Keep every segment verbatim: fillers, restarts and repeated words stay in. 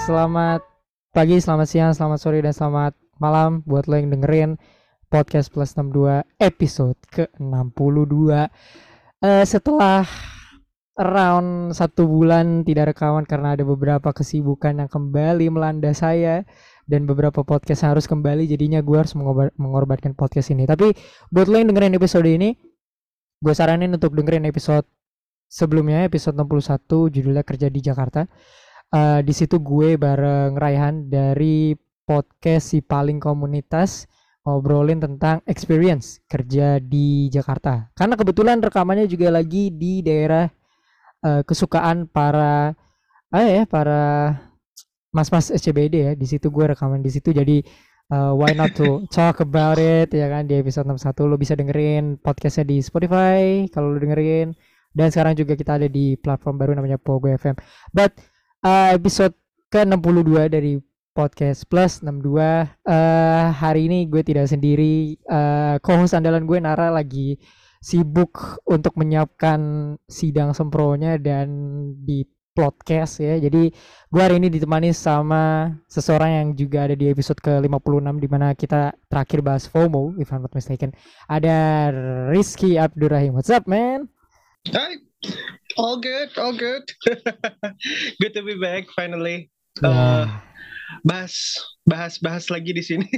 Selamat pagi, selamat siang, selamat sore, dan selamat malam buat lo yang dengerin Podcast Plus enam puluh dua episode ke enam puluh dua. Eh, setelah around satu bulan tidak rekaman karena ada beberapa kesibukan yang kembali melanda saya dan beberapa podcast yang harus kembali, jadinya gue harus mengobar- mengorbankan podcast ini. Tapi buat lo yang dengerin episode ini, gue saranin untuk dengerin episode sebelumnya, episode enam puluh satu, judulnya Kerja di Jakarta. Uh, di situ gue bareng Raihan dari podcast Si Paling Komunitas ngobrolin tentang experience kerja di Jakarta. Karena kebetulan rekamannya juga lagi di daerah uh, kesukaan para ah ya para mas-mas S C B D ya. Di situ gue rekaman di situ, jadi uh, why not to talk about it ya kan. Di episode enam puluh satu lo bisa dengerin podcastnya di Spotify kalau lo dengerin, dan sekarang juga kita ada di platform baru namanya Pogo F M. But uh, episode ke enam puluh dua dari Podcast Plus enam puluh dua, uh, hari ini gue tidak sendiri. uh, Co-host andalan gue Nara lagi sibuk untuk menyiapkan sidang sempronya dan di podcast ya. Jadi gue hari ini ditemani sama seseorang yang juga ada di episode ke lima puluh enam, dimana kita terakhir bahas FOMO if I'm not mistaken. Ada Rizky Abdurrahim. What's up, man? Hi. All good, all good. Good to be back finally. Yeah. Uh, bahas, bahas, bahas lagi di sini.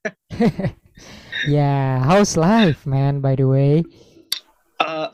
Yeah, how's life, man? By the way. Uh,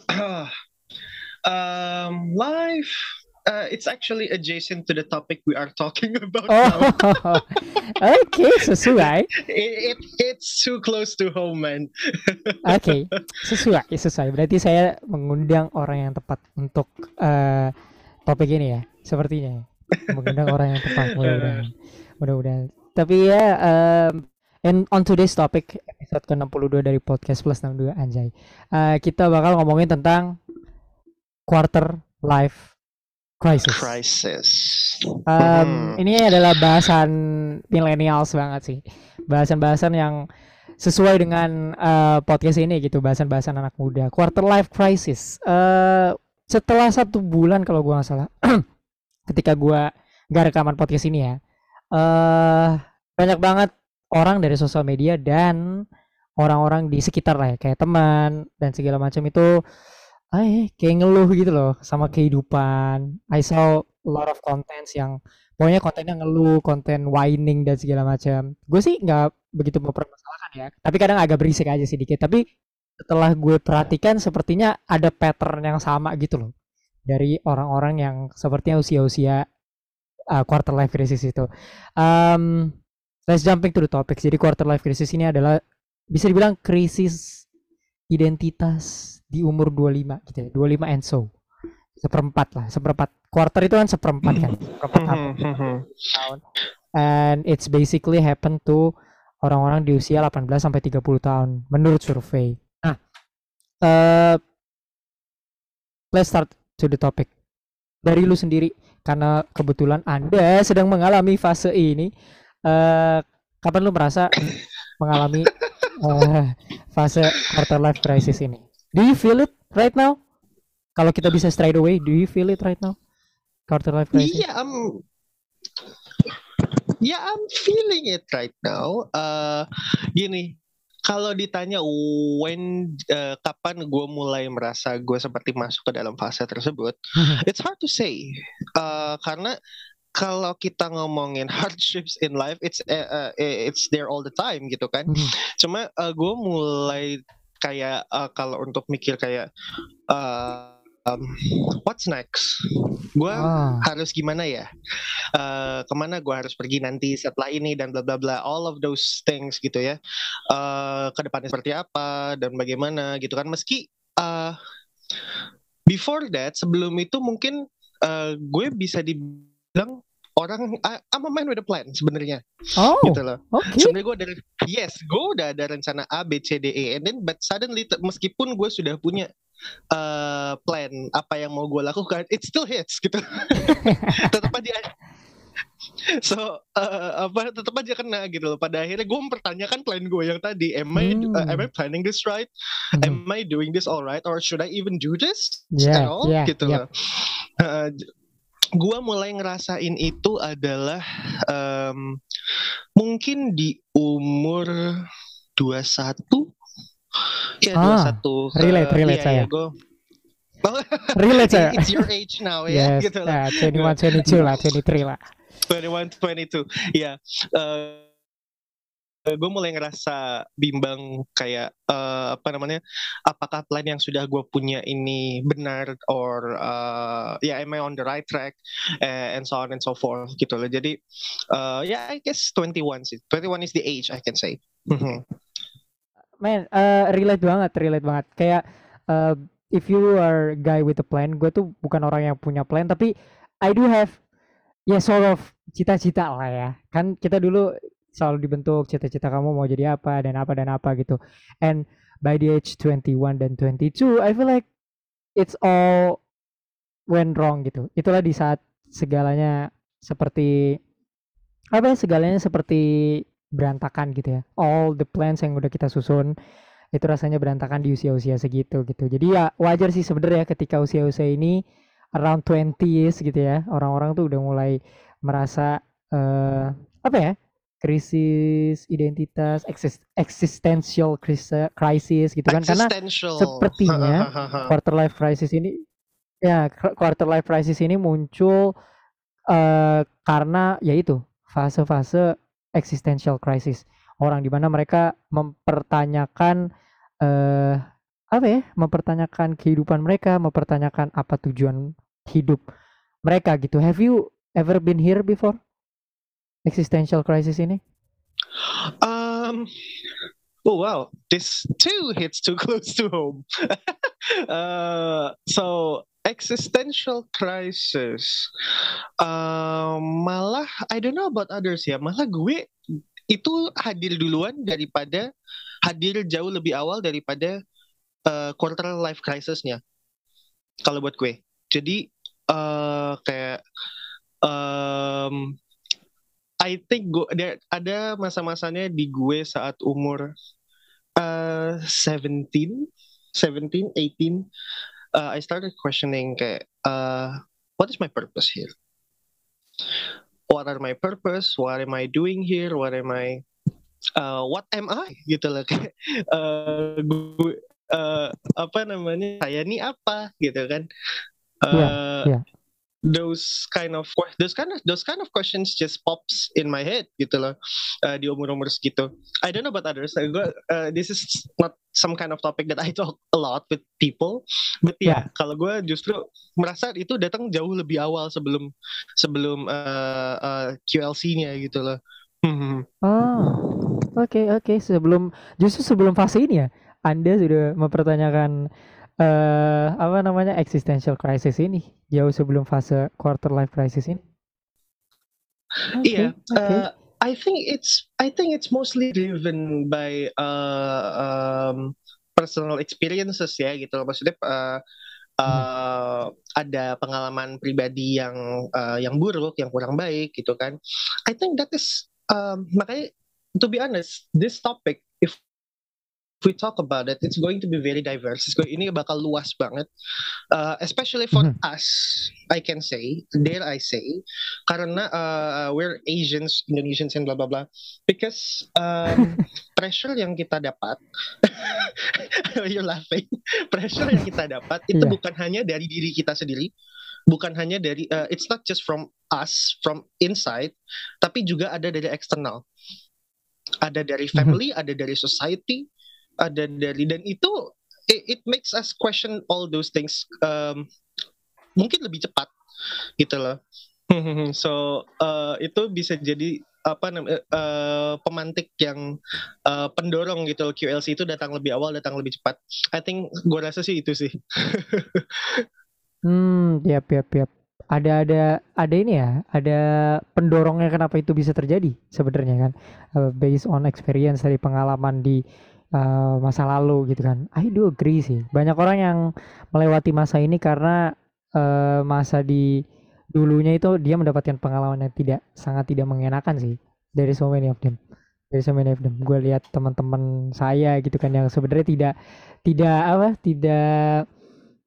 um, life. Uh, it's actually adjacent to the topic we are talking about Oh, now. okay, sesuai. It, it, it's too close to home, man. Oke, okay, sesuai, sesuai. Berarti saya mengundang orang yang tepat untuk uh, topik ini ya, sepertinya. Mengundang orang yang tepat, mudah-mudahan. Mudah-mudahan. Tapi ya, um, and on today's topic, episode ke enam puluh dua dari Podcast Plus enam puluh dua, anjay. Uh, kita bakal ngomongin tentang quarter life crisis. Crisis. Um, Hmm. Ini adalah bahasan millennials banget sih. Bahasan-bahasan yang sesuai dengan uh, podcast ini gitu, bahasan-bahasan anak muda. Quarter life crisis. Uh, setelah satu bulan kalau gue nggak salah, ketika gue nggak rekaman podcast ini ya, uh, banyak banget orang dari sosial media dan orang-orang di sekitar lah ya, kayak teman dan segala macam itu, eh kayak ngeluh gitu loh sama kehidupan. I saw a lot of contents yang pokoknya kontennya ngeluh, konten whining dan segala macam. Gue sih nggak begitu mempermasalahkan ya, tapi kadang agak berisik aja sedikit. Tapi setelah gue perhatikan, sepertinya ada pattern yang sama gitu loh dari orang-orang yang sepertinya usia-usia uh, quarter life crisis itu. Um, let's jumping to the topic. Jadi quarter life crisis ini adalah bisa dibilang krisis identitas di umur dua puluh lima gitu ya, dua puluh lima and so. Seperempat lah, seperempat. Quarter itu kan seperempat kan, seperempat tahun. And it's basically happen to orang-orang di usia delapan belas sampai tiga puluh tahun menurut survei. Nah, uh, let's start to the topic. Dari lu sendiri, karena kebetulan Anda sedang mengalami fase ini, uh, kapan lu merasa mengalami uh, fase quarter life crisis ini? Do you feel it right now? Kalau kita bisa straight away, do you feel it right now? Quarter life crisis? Yeah, I'm. Yeah, I'm feeling it right now. Uh, gini, kalau ditanya when, uh, kapan gue mulai merasa gue seperti masuk ke dalam fase tersebut, it's hard to say. Uh, karena kalau kita ngomongin hardships in life, it's uh, uh, it's there all the time gitu kan. Cuma uh, gue mulai kayak uh, kalau untuk mikir kayak uh, um, what's next? Gue Ah. harus gimana ya? Uh, kemana gue harus pergi nanti setelah ini dan bla bla bla, all of those things gitu ya. Uh, kedepannya seperti apa dan bagaimana gitu kan. Meski uh, before that, sebelum itu mungkin uh, gue bisa dibilang orang I, I'm a man with a plan sebenarnya. Oh, gitu loh. okay. Sebenarnya gue ada, yes, gue udah ada rencana A, B, C, D, E, and then but suddenly t- meskipun gue sudah punya uh, plan apa yang mau gue lakukan, it still hits gitu. Tetap aja. So uh, apa tetap aja kena gitu loh. Pada akhirnya gue mempertanyakan plan gue yang tadi. Am I Hmm. uh, am I planning this right? Mhm. Am I doing this all right? Or should I even do this Yeah, at all? yeah, Gitu yep. loh. Uh, gua mulai ngerasain itu adalah um, mungkin di umur dua puluh satu. Ya dua puluh Ah, satu ke relate, relate iya ya saya. gue. Relate saya. It's your age now ya Yes, gitu loh. nah, twenty one, twenty two lah, twenty three lah. twenty one, twenty two. Ya, uh, gue mulai ngerasa bimbang kayak uh, apa namanya, apakah plan yang sudah gue punya ini benar or uh, ya yeah, am I on the right track uh, and so on and so forth gitu loh. Jadi uh, ya yeah, I guess twenty one sih. twenty one is the age I can say. Man, uh, relate banget, relate banget. Kayak uh, if you are guy with a plan, gue tuh bukan orang yang punya plan, tapi I do have ya sort of cita-cita lah ya. Kan kita dulu selalu dibentuk cita-cita kamu mau jadi apa dan apa dan apa gitu. And by the age twenty one dan twenty two, I feel like it's all went wrong gitu. Itulah di saat segalanya seperti apa ya, segalanya seperti berantakan gitu ya. All the plans yang udah kita susun itu rasanya berantakan di usia-usia segitu gitu. Jadi ya wajar sih sebenarnya ketika usia-usia ini around twenties gitu ya, orang-orang tuh udah mulai merasa uh, apa ya, krisis identitas, exist, existential crisis gitu kan, karena sepertinya quarter life crisis ini ya quarter life crisis ini muncul uh, karena yaitu fase-fase existential crisis, orang di mana mereka mempertanyakan uh, apa ya, mempertanyakan kehidupan mereka, mempertanyakan apa tujuan hidup mereka gitu. Have you ever been here before? Existential crisis ini? Um, oh wow, this too hits too close to home. uh, so existential crisis, uh, malah I don't know about others ya, malah gue itu hadir duluan daripada hadir jauh lebih awal daripada uh, quarter life crisisnya. Kalau buat gue, jadi uh, kayak um, I think gue ada masa-masanya di gue saat umur uh, seventeen, seventeen, eighteen, uh, I started questioning kayak uh, what is my purpose here? What are my purpose? What am I doing here? What am I? Uh, what am I? Gitu loh kayak uh, gue uh, apa namanya? Saya ini apa? Gitu kan? Uh, yeah, yeah. Those kind of those kind of those kind of questions just pops in my head gitu loh uh, di umur-umur segitu. I don't know about others. Uh, gue, uh, this is not some kind of topic that I talk a lot with people, but ya yeah, kalau gue justru merasa itu datang jauh lebih awal sebelum sebelum uh, uh, Q L C-nya gitu loh. Oh, oke okay, oke okay. Sebelum justru sebelum fase ini ya, Anda sudah mempertanyakan uh, apa namanya existential crisis ini jauh sebelum fase quarter life crisis ini. Iya, okay, okay. uh, I think it's I think it's mostly driven by uh, um, personal experiences ya gitu. Maksudnya uh, uh, ada pengalaman pribadi yang uh, yang buruk, yang kurang baik gitu kan. I think that is um, makanya to be honest, this topic if If we talk about it, it's going to be very diverse. It's going, ini bakal luas banget, uh, especially for mm-hmm. us. I can say, dare I say, karena uh, we're Asians, Indonesians, and blah blah blah. Because um, pressure yang kita dapat, you're laughing. Pressure yang kita dapat itu yeah. bukan hanya dari diri kita sendiri, bukan hanya dari, uh, it's not just from us, from inside, tapi juga ada dari eksternal. Ada dari family, mm-hmm. ada dari society. Ada dari dan itu it, it makes us question all those things um, mungkin lebih cepat gitu loh. So uh, itu bisa jadi apa namanya uh, pemantik yang uh, pendorong gitu. Q L C itu datang lebih awal, datang lebih cepat. I think gue rasa sih itu sih. hmm, yap yap yap. Ada ada ada ini ya, ada pendorongnya kenapa itu bisa terjadi sebenarnya kan, uh, based on experience dari pengalaman di Uh, masa lalu gitu kan. I do agree sih. Banyak orang yang melewati masa ini karena uh, masa di dulunya itu dia mendapatkan pengalaman yang tidak sangat tidak mengenakan sih. There is so many of them. There is so many of them. Gue lihat teman-teman saya gitu kan yang sebenarnya tidak tidak apa tidak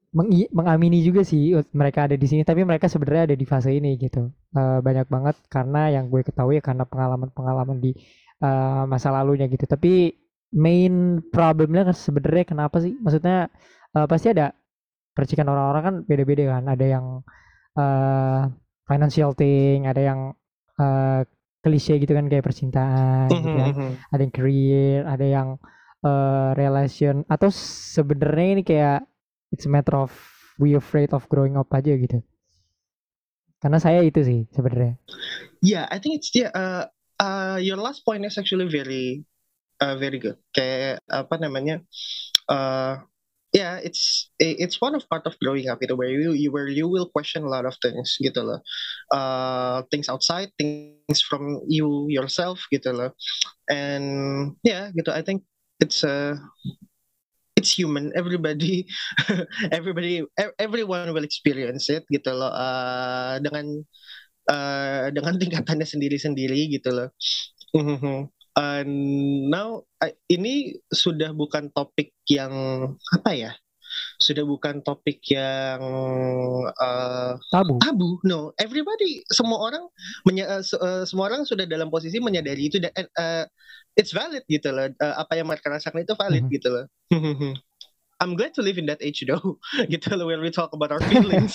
mengi- mengamini juga sih ut- mereka ada di sini, tapi mereka sebenarnya ada di fase ini gitu. Eh, banyak banget karena yang gue ketahui ya karena pengalaman-pengalaman di eh, masa lalunya gitu. Tapi main problemnya kan sebenarnya kenapa sih? Maksudnya eh, pasti ada percikan orang-orang kan beda-beda kan. Ada yang eh, financial thing, ada yang eh, klise gitu kan kayak percintaan gitu kan. Mhm. Ada yang career, ada yang eh, relation atau sebenarnya ini kayak it's a matter of we afraid of growing up aja gitu. Karena saya itu sih sebenarnya. Yeah, I think it's yeah. Uh, uh, your last point is actually very, uh, very good. Kayak apa namanya? Uh, yeah, it's it's one of part of growing up itu where you, you where you will question a lot of things gitu loh. Uh, things outside, things from you yourself gitu loh. And yeah, gitu. I think it's uh, it's human. Everybody, everybody, e- everyone will experience it gitu loh. Uh, dengan uh, dengan tingkatannya sendiri-sendiri gitu loh. Mhm. And now I- ini sudah bukan topik yang apa ya? Sudah bukan topik yang uh, Tabu. tabu. No, everybody, semua orang, menye- uh, se- uh, semua orang sudah dalam posisi menyadari itu dan uh, it's valid gitu loh. Uh, apa yang mereka rasakan itu valid Mhm. gitu loh. I'm glad to live in that age though, gitu loh, where we talk about our feelings.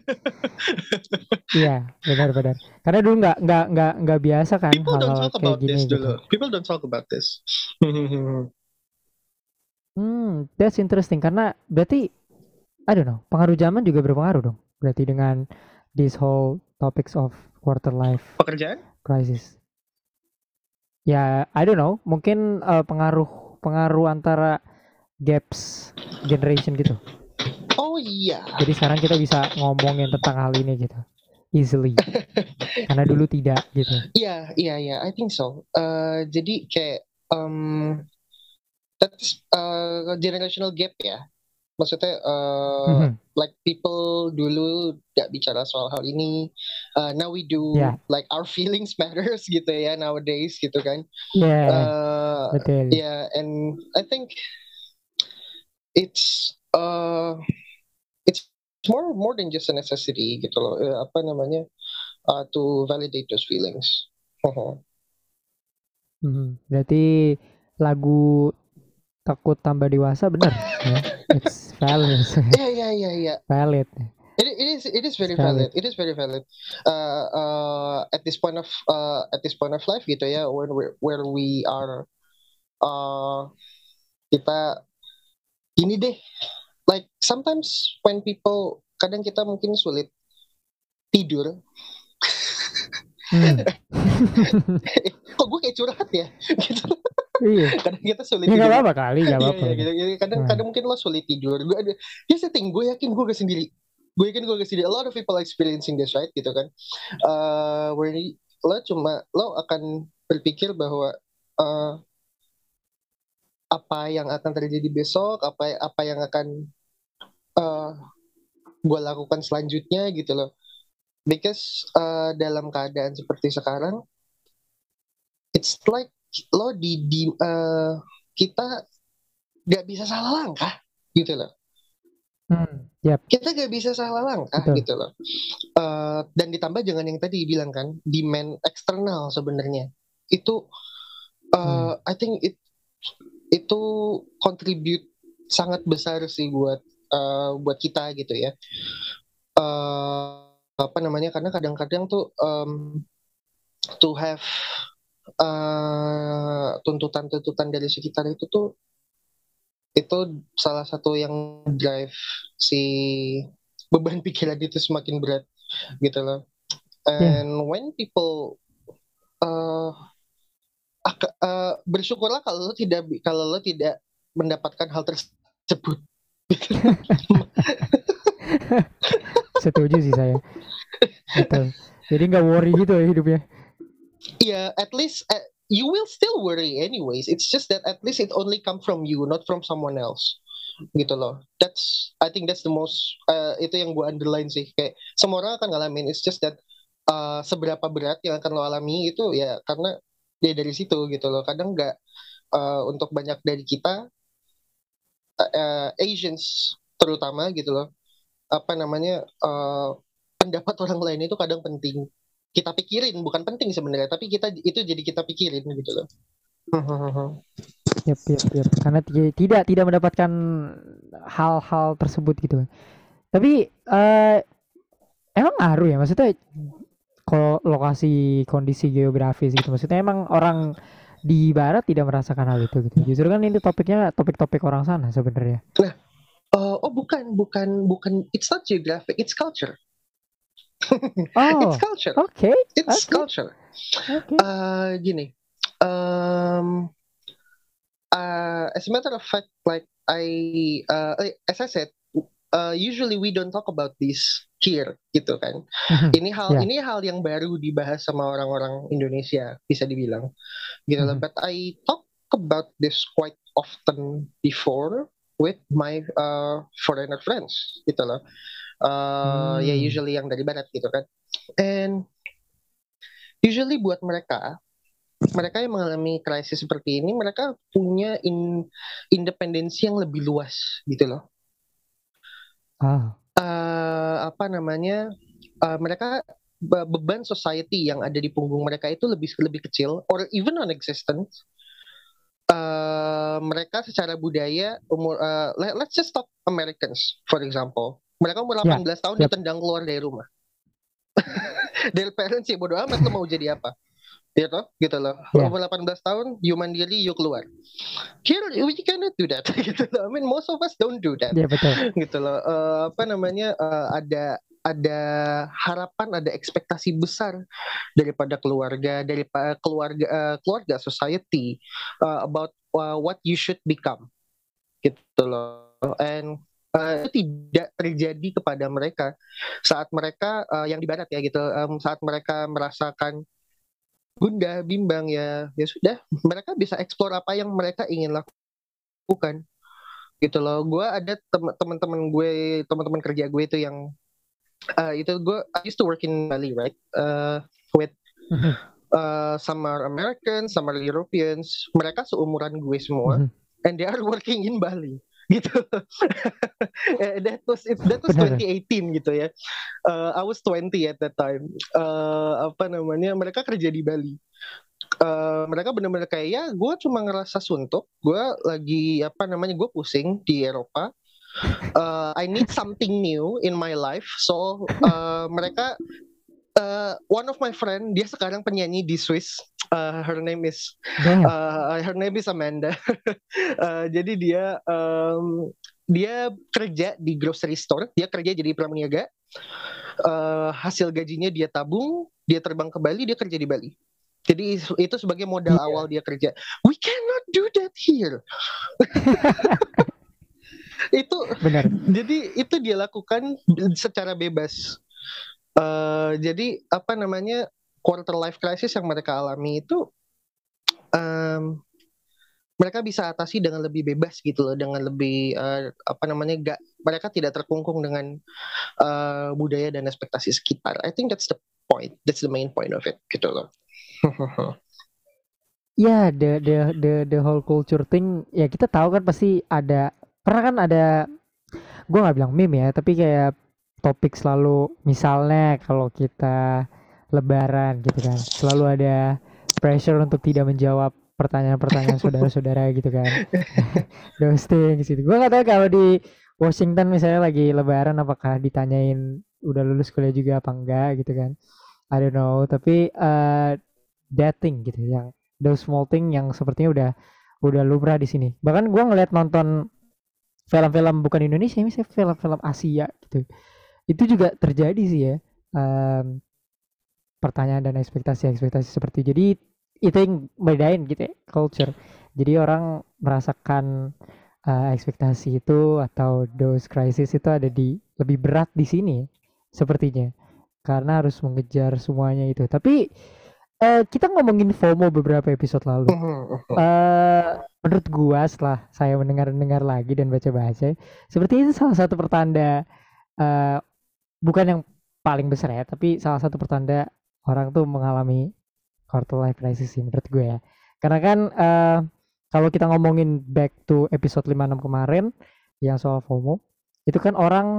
Iya, benar-benar. Karena dulu nggak nggak nggak nggak biasa kan People don't hal-hal talk kayak about gini this gitu. dulu. People don't talk about this. Hmm, that's interesting karena berarti I don't know, pengaruh zaman juga berpengaruh dong. Berarti dengan this whole topics of quarter life Pekerjaan? crisis. Ya, I don't know, mungkin eh, pengaruh pengaruh antara gaps generation gitu. Oh iya. Jadi sekarang kita bisa ngomongin tentang hal ini gitu easily. Karena dulu tidak gitu. Iya, iya, iya. I think so. Uh, jadi kayak um, that's uh, generational gap ya. Maksudnya uh, Mhm. like people dulu gak bicara soal hal ini. Uh, now we do, Ya, like our feelings matters gitu ya nowadays gitu kan. ya, Uh, betul. yeah, and I think it's uh it's more more than just a necessity gitu loh. Eh, apa namanya? Uh, to validate those feelings. Mhm. Berarti lagu takut tambah dewasa bener ya. It's valid. Yeah, yeah, yeah, yeah. Valid. It, it is it is It's very valid. valid. It is very valid. Uh, uh, at this point of uh, at this point of life gitu ya, when we where we are, uh, kita ini deh. Like sometimes when people, kadang kita mungkin sulit tidur. Hmm. Kok gue kayak curhat ya? Gitu. Iya. Kadang kita sulit Ya nggak tidur. apa-apa kali, nggak Iya, apa-apa. iya, Gitu. gitu. Jadi Kadang Nah. kadang mungkin lo sulit tidur. Gue ada, here's the thing, gue yakin gue gak sendiri. Gue yakin gue gak sendiri. A lot of people experiencing this, right? Gitu kan. Uh, where lo cuma lo akan berpikir bahwa uh, apa yang akan terjadi besok, apa apa yang akan uh, gue lakukan selanjutnya gitu loh. Because uh, dalam keadaan seperti sekarang, it's like lo di, di uh, kita gak bisa salah langkah gitu loh. Hmm. Yap. Kita gak bisa salah langkah Betul. gitu loh. Uh, dan ditambah jangan yang tadi bilang kan, demand eksternal sebenarnya itu, uh, Hmm. I think it itu contribute sangat besar sih buat uh, buat kita gitu ya. Uh, apa namanya? Karena kadang-kadang tuh um, to have uh, tuntutan-tuntutan dari sekitar itu tuh, itu salah satu yang drive si beban pikiran itu semakin berat gitu loh. Ya. And when people uh, ak- uh, bersyukurlah kalau lo tidak kalau lo tidak mendapatkan hal tersebut. Setuju sih saya. Betul. Jadi nggak worry gitu ya hidupnya. Yeah, at least uh, you will still worry anyways. It's just that at least it only come from you, not from someone else. Gitu loh. That's I think that's the most uh, itu yang gue underline sih. Kayak semua orang akan ngalamin. It's just that uh, seberapa berat yang akan lo alami itu ya karena dia dari situ gitu loh. Kadang nggak uh, untuk banyak dari kita uh, Asians terutama gitu loh. apa namanya uh, pendapat orang lain itu kadang penting kita pikirin, bukan penting sebenarnya, tapi kita itu jadi kita pikirin gitu loh. Yep, yep, yep. Karena t- tidak tidak mendapatkan hal-hal tersebut gitu. Tapi uh, emang ngaruh ya, maksudnya kalau lokasi kondisi geografis gitu, maksudnya emang orang di barat tidak merasakan hal itu gitu. Justru kan ini topiknya topik-topik orang sana sebenarnya. Nah, uh, oh bukan, bukan, bukan. It's not geographic, it's culture. Oh, it's culture. oke, okay, It's okay, culture. Okay. Uh, gini, um, uh, as a matter of fact, like I, uh, as I said, uh, usually we don't talk about this here, gitu kan. Ini hal, Yeah. ini hal yang baru dibahas sama orang-orang Indonesia, bisa dibilang, gitu loh. Mhm. But I talk about this quite often before with my uh, foreigner friends, gitu loh. Uh, ya Hmm. usually yang dari barat gitu kan. And usually buat mereka, mereka yang mengalami krisis seperti ini, mereka punya in, independensi yang lebih luas gitu loh. Ah. Uh, apa namanya? Uh, mereka be- beban society yang ada di punggung mereka itu lebih lebih kecil or even non-existent. Uh, mereka secara budaya umur uh, let, let's just talk Americans for example. Mereka umur delapan belas yeah. tahun yep. ditendang keluar dari rumah. Dari parents sih bodo amat lo mau jadi apa. Gitu, gitu loh. Yeah. Umur delapan belas tahun, you mandiri, you keluar. Here, we cannot do that. Gitu loh. I mean, most of us don't do that. Yeah, betul. Gitu loh. Uh, apa namanya? Uh, ada ada harapan, ada ekspektasi besar daripada keluarga, dari keluarga, uh, keluarga society uh, about uh, what you should become. Gitu loh. And Uh, itu tidak terjadi kepada mereka saat mereka uh, yang di barat ya gitu um, saat mereka merasakan gundah bimbang ya ya sudah mereka bisa explore apa yang mereka ingin lakukan gitu loh. Gue ada tem- teman-teman gue teman-teman kerja gue itu yang uh, itu gue I used to work in Bali right uh, with uh, some are Americans, some are Europeans, mereka seumuran gue semua and they are working in Bali gitu. that was it, that was twenty eighteen gitu ya. Uh, I was twenty at that time. Uh, apa namanya? Mereka kerja di Bali. Uh, mereka benar-benar kayak ya, gue cuma ngerasa suntuk. Gue lagi apa namanya? Gue pusing di Eropa. Uh, I need something new in my life. So uh, mereka uh, one of my friend dia sekarang penyanyi di Swiss. Uh, her name is uh, her name is Amanda. uh, jadi dia um, dia kerja di grocery store, dia kerja jadi pramuniaga. Uh, hasil gajinya dia tabung, dia terbang ke Bali, dia kerja di Bali. Jadi itu sebagai modal yeah. awal dia kerja. We cannot do that here. Itu benar. Jadi itu dia lakukan secara bebas. Uh, jadi apa namanya? Quarter life crisis yang mereka alami itu um, mereka bisa atasi dengan lebih bebas gitu loh, dengan lebih uh, apa namanya gak, mereka tidak terkungkung dengan uh, budaya dan ekspektasi sekitar. I think that's the point, that's the main point of it gitu loh. Ya, yeah, the the the the whole culture thing ya kita tahu kan pasti ada, pernah kan ada, gue nggak bilang meme ya, tapi kayak topik selalu misalnya kalau kita Lebaran gitu kan, selalu ada pressure untuk tidak menjawab pertanyaan-pertanyaan saudara-saudara gitu kan. Ghosting gitu. Gue gak tahu kalau di Washington misalnya lagi Lebaran apakah ditanyain udah lulus kuliah juga apa enggak gitu kan. I don't know. Tapi uh, dating gitu, yang those small thing yang sepertinya udah udah lumrah di sini. Bahkan gue ngeliat nonton film-film bukan Indonesia, misalnya film-film Asia gitu. Itu juga terjadi sih ya. Um, pertanyaan dan ekspektasi-ekspektasi seperti itu. Jadi itu yang bedain gitu ya, culture. Jadi orang merasakan uh, ekspektasi itu atau those crisis itu ada di lebih berat di sini sepertinya, karena harus mengejar semuanya itu. Tapi uh, kita ngomongin FOMO beberapa episode lalu. Uh, menurut gua setelah saya mendengar-dengar lagi dan baca-baca, seperti itu salah satu pertanda, uh, bukan yang paling besar ya, tapi salah satu pertanda orang tuh mengalami quarter life crisis sih menurut gue ya. Karena kan uh, kalau kita ngomongin back to episode lima puluh enam kemarin yang soal FOMO, itu kan orang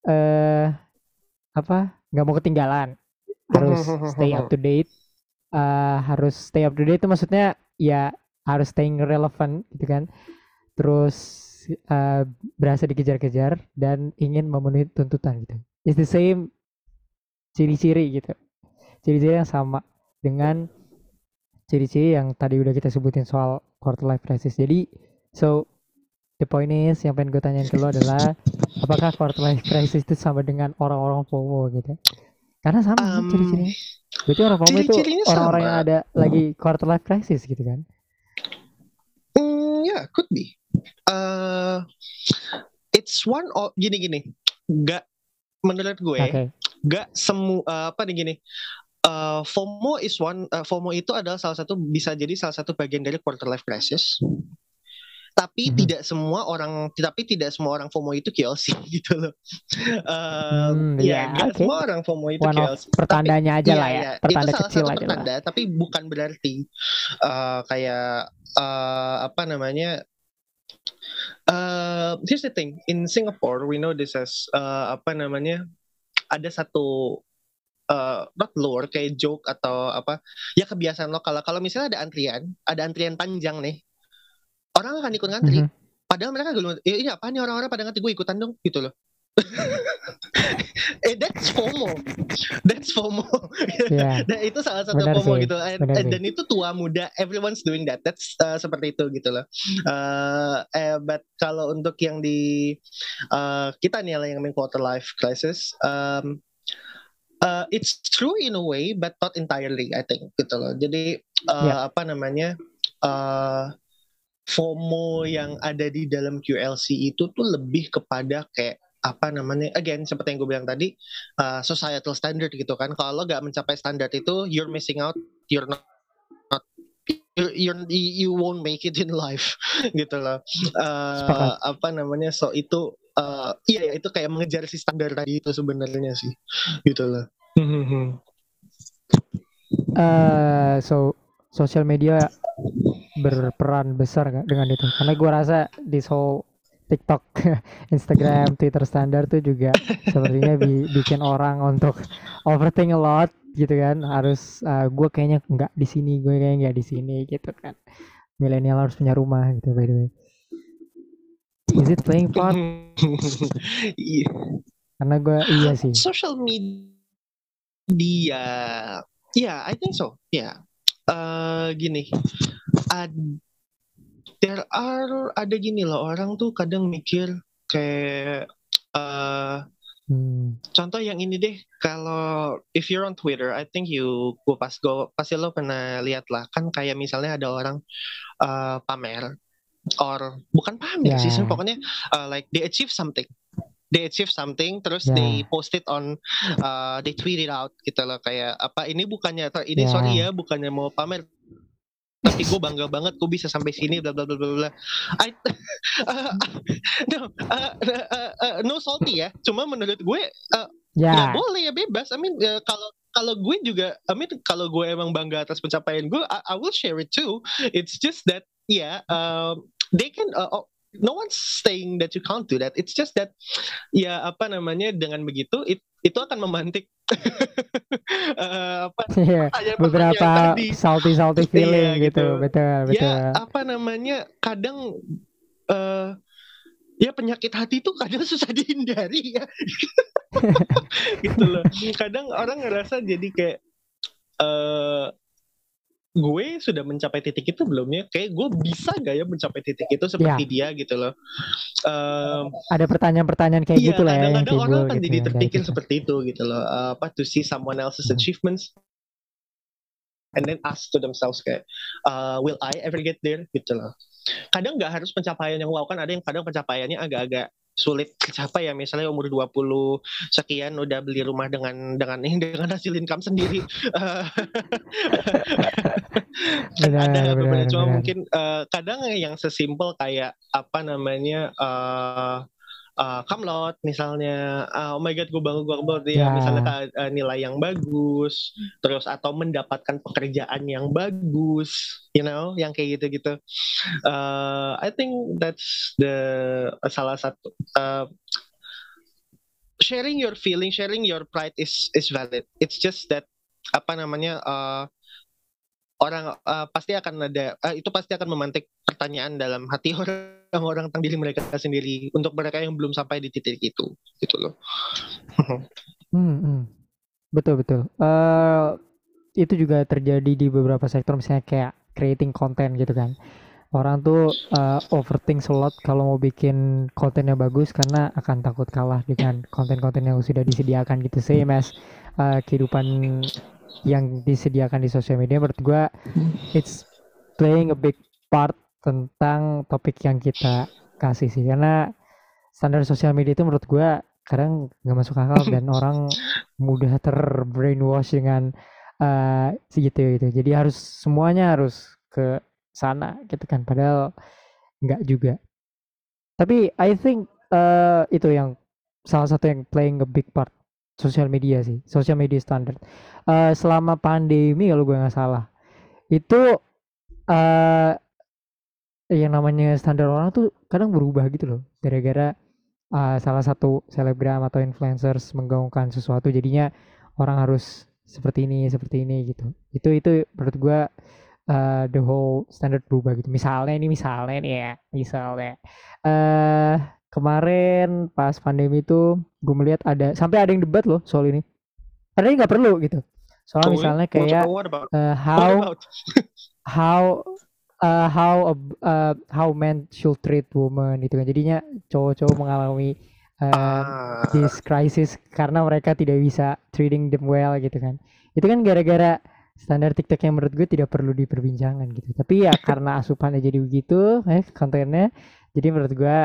eh apa nggak mau ketinggalan, harus stay up to date. Uh, harus stay up to date itu maksudnya ya harus staying relevant gitu kan. Terus uh, berasa dikejar-kejar dan ingin memenuhi tuntutan gitu. It's the same ciri-ciri gitu. Ciri-ciri yang sama dengan ciri-ciri yang tadi udah kita sebutin soal quarter life crisis. Jadi so the point is yang pengen gue tanyain ke lo adalah apakah quarter life crisis itu sama dengan orang-orang FOMO gitu? Karena sama kan Um, ciri-cirinya. Berarti orang FOMO itu Ciri-cirinya orang-orang sama. yang ada lagi quarter life crisis gitu kan? Mm, yeah, could be. Uh, it's one of gini-gini. Gak menurut gue, Oke. gak semua uh, apa nih gini. Uh, FOMO is one. Uh, FOMO itu adalah salah satu bisa jadi salah satu bagian dari quarter life crisis. Tapi Mhm. tidak semua orang, tapi tidak semua orang FOMO itu K L C gitu loh. Uh, Hmm, ya, ya, nggak oke. semua orang FOMO itu One K L of C. pertandanya Tapi aja iya, lah ya, iya, itu pertanda salah kecil satu aja lah. pertanda, tapi bukan berarti uh, kayak uh, apa namanya. Uh, here's the thing, in Singapore we know this as uh, apa namanya, ada satu uh, not lore kayak joke atau apa ya, kebiasaan lokal. Kalau misalnya ada antrian, ada antrian panjang nih, orang akan ikut ngantri. Mhm. Padahal mereka gak, eh, ini apa nih orang-orang pada ngantri, gue ikutan dong gitu loh. eh that's FOMO, that's FOMO. Iya, Dan itu salah satu benar FOMO sih, gitu. And, benar and- sih. dan itu tua muda, everyone's doing that. That's uh, seperti itu gitu loh. Uh, eh, but kalau untuk yang di uh, kita nih yang main quarter life crisis, um, uh, it's true in a way, but not entirely, I think gitu loh. Jadi uh, Yep. apa namanya? Uh, FOMO yang ada di dalam Q L C itu tuh lebih kepada kayak apa namanya, again seperti yang gue bilang tadi, uh, societal standard gitu kan. Kalau lo gak mencapai standar itu, you're missing out, you're not, not you're, you're, you won't make it in life gitu loh. Sepakat. Uh, apa namanya, so itu uh, iya ya, itu kayak mengejar si standar tadi itu sebenarnya sih gitu loh. Uh, so social media berperan besar gak dengan itu? Karena gue rasa this whole TikTok, Instagram, Twitter standar tuh juga sepertinya bi- bikin orang untuk overthink a lot gitu kan. Harus uh, gue kayaknya nggak di sini, gue kayaknya nggak di sini gitu kan. Milenial harus punya rumah gitu by the way. Is it playing part? Iya. Karena gue iya sih. Social media, yeah, I think so. Yeah. Uh, gini, ad- there are ada gini loh, orang tuh kadang mikir kayak uh, Hmm. contoh yang ini deh, kalau if you're on Twitter, I think you gua pas go pasti lo pernah lihat lah kan, kayak misalnya ada orang uh, pamer, or bukan pamer Ya. sih, pokoknya uh, like they achieve something. They achieve something, terus Ya. they post it on, uh, they tweet it out gitu loh, kayak apa, ini bukannya, ini Ya. sorry ya, bukannya mau pamer, tapi gue bangga banget gue bisa sampai sini, bla bla bla bla bla. I, uh, no, uh, uh, uh, no salty ya, cuma menurut gue uh, Ya. nggak boleh ya, bebas. I mean uh, kalau kalau gue juga, I mean kalau gue emang bangga atas pencapaian gue, I, I will share it too. It's just that ya, yeah, um, they can. Uh, oh, no one's saying that you can't do that. It's just that ya apa namanya, dengan begitu it, itu akan memantik uh, apa Iya, pertanyaan-pertanyaan beberapa tadi. salty salty Iya, feeling gitu. gitu. Betul, betul. Ya apa namanya, kadang uh, ya penyakit hati itu kadang susah dihindari ya. Gitu loh. Kadang orang ngerasa jadi kayak uh, gue sudah mencapai titik itu belum ya? Kayak gue bisa gak ya mencapai titik itu seperti Ya. dia gitu loh. Um, Ada pertanyaan-pertanyaan kayak iya, gitu lah ya yang kadang-kadang orang timbul akan gitu jadi kan dari terpikir kita. seperti itu gitu loh. Uh, apa to see someone else's Hmm. achievements and then ask to themselves kayak, uh, will I ever get there gitu loh. Kadang nggak harus pencapaian yang wow, kan ada yang kadang pencapaiannya agak-agak sulit tercapai ya, misalnya umur dua puluh sekian udah beli rumah dengan dengan dengan hasil income sendiri. Kan Benar, ada beberapa, benar, cuma benar. mungkin uh, kadang yang sesimpel kayak apa namanya, uh, uh, Kamlot misalnya, uh, oh my god gue bangga gue banget ya, Ya. misalnya uh, nilai yang bagus, terus atau mendapatkan pekerjaan yang bagus, you know, yang kayak gitu-gitu. Uh, I think that's the uh, salah satu uh, sharing your feeling, sharing your pride is is valid. It's just that apa namanya uh, orang uh, pasti akan ada uh, itu pasti akan memantik pertanyaan dalam hati orang-orang tentang diri mereka sendiri untuk mereka yang belum sampai di titik itu, gitu loh. Hmm, hmm. Betul betul. Eh itu juga terjadi di beberapa sektor, misalnya kayak creating content gitu kan. Orang tuh uh, overthink a lot kalau mau bikin kontennya bagus karena akan takut kalah dengan konten-konten yang sudah disediakan gitu. Same as uh, kehidupan yang disediakan di sosial media. Menurut gue it's playing a big part tentang topik yang kita kasih sih, karena standar sosial media itu menurut gue kadang nggak masuk akal dan orang mudah terbrainwash dengan uh, segitu gitu. Jadi harus semuanya harus ke sana gitu kan, padahal nggak juga. Tapi I think uh, itu yang salah satu yang playing a big part, sosial media sih, sosial media standard. Uh, selama pandemi kalau gue nggak salah itu uh, yang namanya standar orang tuh kadang berubah gitu loh, gara-gara uh, salah satu selebgram atau influencers menggaungkan sesuatu, jadinya orang harus seperti ini seperti ini gitu. Itu itu menurut gue uh, the whole standard berubah gitu. Misalnya ini misalnya nih ya, misalnya uh, kemarin pas pandemi itu gue melihat ada sampai ada yang debat loh soal ini. Padahal nggak perlu gitu. Soal Oh, misalnya what, kayak what about? uh, What how about? how uh, how uh, how men should treat women gitu kan. Jadinya cowok-cowok mengalami uh, Ah, this crisis karena mereka tidak bisa treating them well gitu kan. Itu kan gara-gara standar TikTok yang menurut gue tidak perlu diperbincangkan gitu. Tapi ya karena asupannya jadi begitu, eh kontennya, jadi menurut gue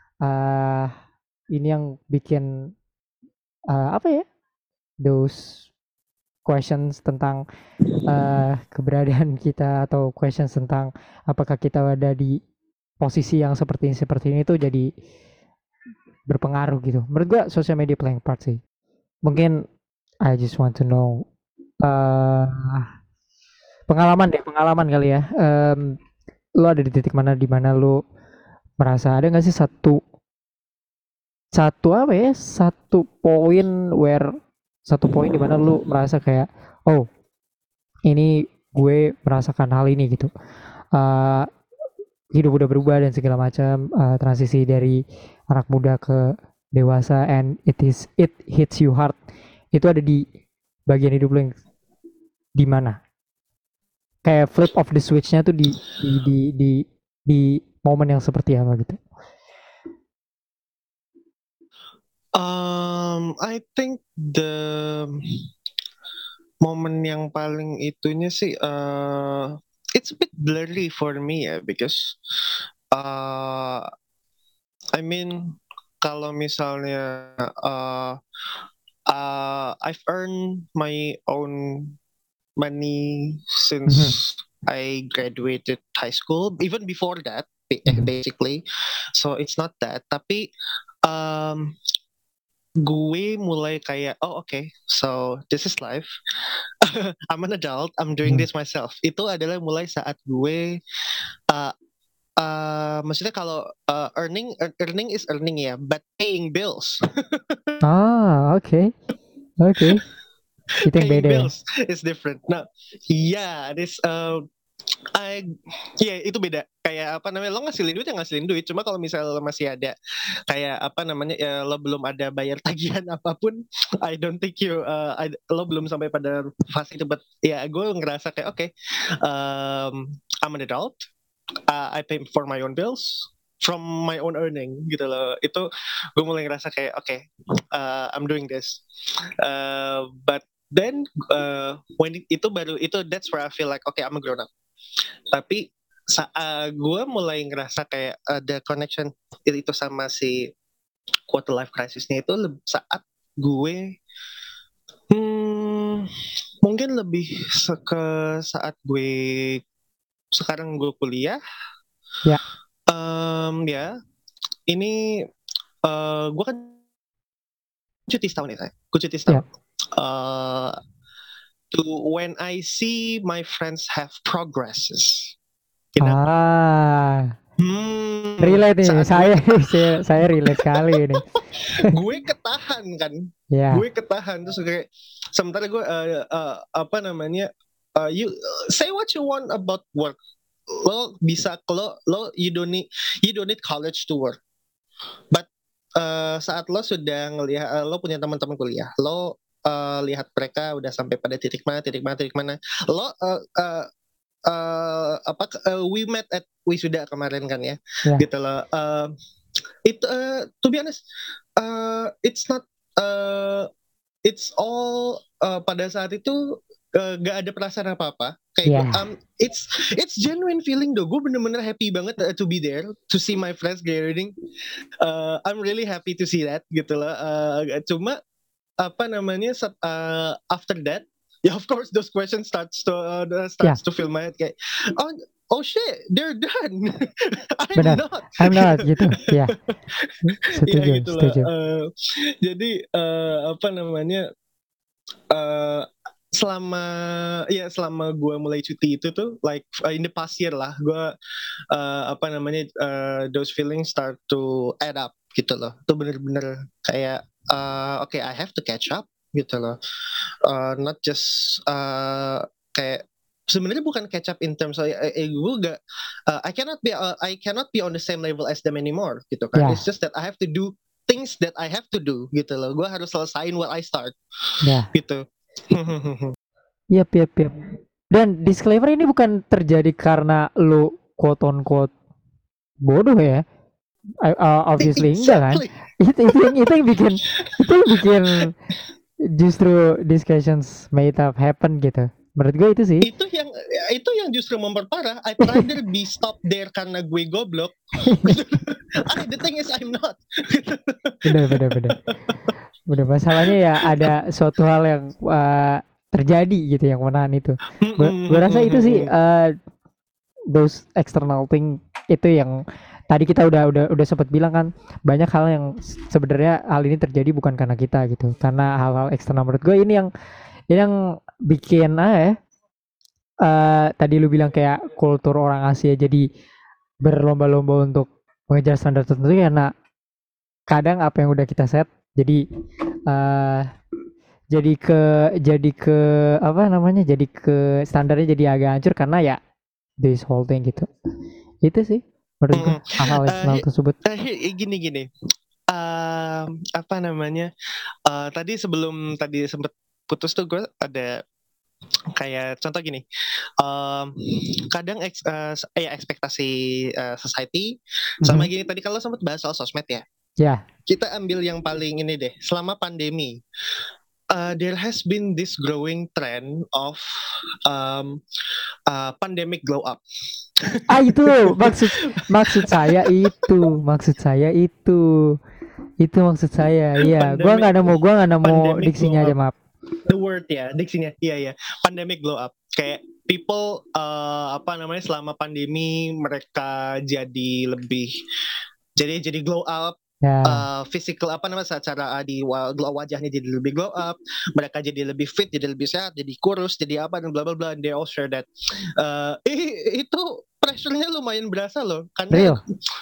uh, ini yang bikin uh, apa ya? Those questions tentang uh, keberadaan kita atau questions tentang apakah kita ada di posisi yang seperti ini seperti ini tuh jadi berpengaruh gitu. Menurut gua social media playing part sih. Mungkin I just want to know uh, pengalaman deh, pengalaman kali ya. Um, lo ada di titik mana di mana lo merasa ada nggak sih satu satu apa ya satu poin where satu poin di mana lo merasa kayak oh ini gue merasakan hal ini gitu. Uh, hidup udah berubah dan segala macam, uh, transisi dari anak muda ke dewasa and it is it hits you hard, itu ada di bagian hidup lo yang di mana kayak flip of the switch-nya tuh di di di di, di momen yang seperti apa gitu. um, I think the momen yang paling itunya sih, uh, it's a bit blurry for me ya, because uh, I mean kalau misalnya uh, uh, I've earned my own money since Mhm. I graduated high school, even before that, Mhm. basically. So it's not that, tapi um, gue mulai kayak oh oke, okay, so this is life. I'm an adult, I'm doing Mhm. this myself. Itu adalah mulai saat gue uh, uh, maksudnya kalau uh, earning earning is earning ya, but paying bills. Ah, oke. Okay. Oke. Okay. Itu yang Paying beda ya. bills is different. Nah, yeah, this uh, I, ya yeah, itu beda. Kayak apa namanya, lo ngasilin duit ya ngasilin duit. Cuma kalau misalnya lo masih ada kayak apa namanya, ya, lo belum ada bayar tagihan apapun, I don't think you, uh, I, lo belum sampai pada fase itu. But ya gue ngerasa kayak oke, okay, um, I'm an adult, uh, I pay for my own bills from my own earning gitu loh. Itu gue mulai ngerasa kayak oke, okay, uh, I'm doing this. Uh, but then uh, when itu baru itu that's where I feel like okay, I'm a grown up. Tapi saat uh, gue mulai ngerasa kayak ada connection itu sama si quarter life crisisnya itu le- saat gue hmm, mungkin lebih ke saat gue sekarang gue kuliah. Ya. Um, ya, ini uh, gue kan cuti setahun ya, saya. Gue cuti setahun. Ya. Uh, to when I see my friends have progresses, you know, Ah. hmm, relate nih, Saat saya, gue saya saya relate sekali ini. gue ketahan kan, Ya, gue ketahan terus kayak sementara gue uh, uh, apa namanya uh, you uh, say what you want about work, lo bisa lo lo you don't need you don't need college to work, but uh, saat lo sudah ngelihat uh, lo punya teman-teman kuliah, lo uh, lihat mereka udah sampai pada titik mana titik mana titik mana lo uh, uh, uh, apa uh, we met at wisuda kemarin kan ya, ya, gitu loh. Uh, it uh, to be honest, uh, it's not uh, it's all uh, pada saat itu uh, gak ada perasaan apa-apa kayak gue, ya, um, it's it's genuine feeling though, gue bener-bener happy banget uh, to be there, to see my friends graduating. uh, I'm really happy to see that gitu loh. Uh, cuma apa namanya set- uh, after that ya, of course those questions starts to uh, ya, starts to fill my head kayak oh oh shit they're done. I'm benar. not. I'm not gitu. Ya, Ya setuju, gitu lah. setuju. Uh, jadi uh, apa namanya uh, selama ya selama gue mulai cuti itu tuh like uh, in the past year lah, gue uh, apa namanya uh, those feelings start to add up gitu loh. Itu bener-bener kayak uh, oke okay, I have to catch up gitu loh. Uh, not just uh, kayak sebenarnya bukan catch up in terms of eh, eh, gue gak uh, I cannot be uh, I cannot be on the same level as them anymore gitu kan. Ya, It's just that I have to do things that I have to do gitu loh. Gue harus selesain what I start ya. gitu. Yap, yap, yap. Dan disclaimer ini bukan terjadi karena lu quote on quote bodoh ya. I- uh, obviously enggak kan. Exactly. Itu itu yang itu yang bikin itu yang bikin justru discussions made up happen gitu. Menurut gue itu sih. Itu yang itu yang justru memperparah. I'd rather be stopped there karena gue goblok. Ah, the thing is I'm not. Benar, benar, benar. Benar, masalahnya ya ada suatu hal yang uh, terjadi gitu yang menahan itu. Gue gue rasa itu sih uh, those external thing itu yang tadi kita udah udah udah sempat bilang kan, banyak hal yang sebenarnya hal ini terjadi bukan karena kita gitu, karena hal-hal eksternal. Menurut gue ini yang ini yang bikin ah ya uh, tadi lu bilang kayak kultur orang Asia jadi berlomba-lomba untuk mengejar standar tertentu karena kadang apa yang udah kita set jadi uh, jadi ke jadi ke apa namanya jadi ke standarnya jadi agak hancur karena ya this whole thing gitu. Itu sih menurut gue hal-hal eksternal Uh, tersebut. uh, gini gini. Um, apa namanya? Uh, tadi sebelum tadi sempet putus tuh gue ada kayak contoh gini. Um, kadang eks, uh, eh, ekspektasi uh, society sama Mhm. gini tadi kalau sempat bahas soal sosmed ya. Ya, Kita ambil yang paling ini deh, selama pandemi. Uh, there has been this growing trend of um, uh, pandemic glow up. ah itu maksud maksud saya itu maksud saya itu itu maksud saya. Iya, gua Pandemic nggak nemu gua nggak nemu pandemic diksinya glow aja, up. maaf. The word ya, diksinya. Iya ya. Pandemic glow up. Kayak people uh, apa namanya selama pandemi mereka jadi lebih jadi jadi glow up. Ya, Uh, physical apa namanya secara uh, di wa- glow wajahnya jadi lebih glow up, mereka jadi lebih fit, jadi lebih sehat, jadi kurus, jadi apa dan bla bla bla. And they all share that. Uh, i- itu pressure-nya lumayan berasa loh, karena real.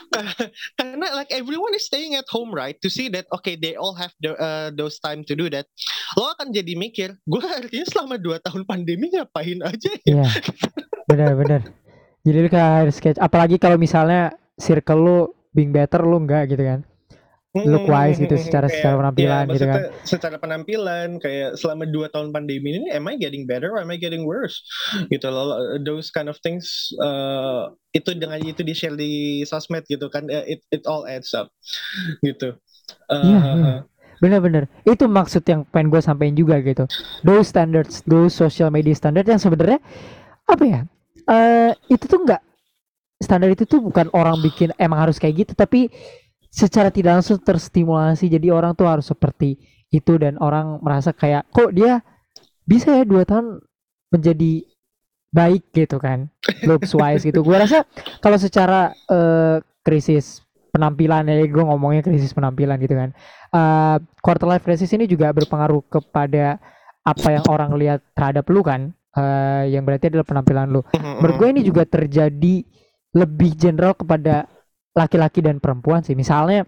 karena like everyone is staying at home right to see that okay they all have the, uh, those time to do that. Lo akan jadi mikir, gue artinya selama dua tahun pandemi ngapain aja ya? Iya, benar-benar. Jadi lu kayak harus sketch. Apalagi kalau misalnya circle lu being better lu enggak gitu kan. Look wise gitu secara secara Kayak, ya penampilan gitu kan. maksudnya secara penampilan kayak selama dua tahun pandemi ini am I getting better or am I getting worse gitu loh, those kind of things. Uh, itu dengan itu di share di sosmed gitu kan, uh, it it all adds up gitu. Iya, Uh, iya. Benar-benar. Itu maksud yang pengen gue sampein juga gitu. Those standards, those social media standard yang sebenarnya apa ya? Eh itu tuh enggak, standar itu tuh bukan orang bikin emang harus kayak gitu, tapi secara tidak langsung terstimulasi jadi orang tuh harus seperti itu dan orang merasa kayak kok dia bisa ya dua tahun menjadi baik gitu kan, looks wise gitu. Gue rasa kalau secara uh, krisis penampilan ya, gue ngomongnya krisis penampilan gitu kan, uh, quarter life crisis ini juga berpengaruh kepada apa yang orang lihat terhadap lu kan, uh, yang berarti adalah penampilan lu. Menurut gue ini juga terjadi lebih general kepada laki-laki dan perempuan sih. Misalnya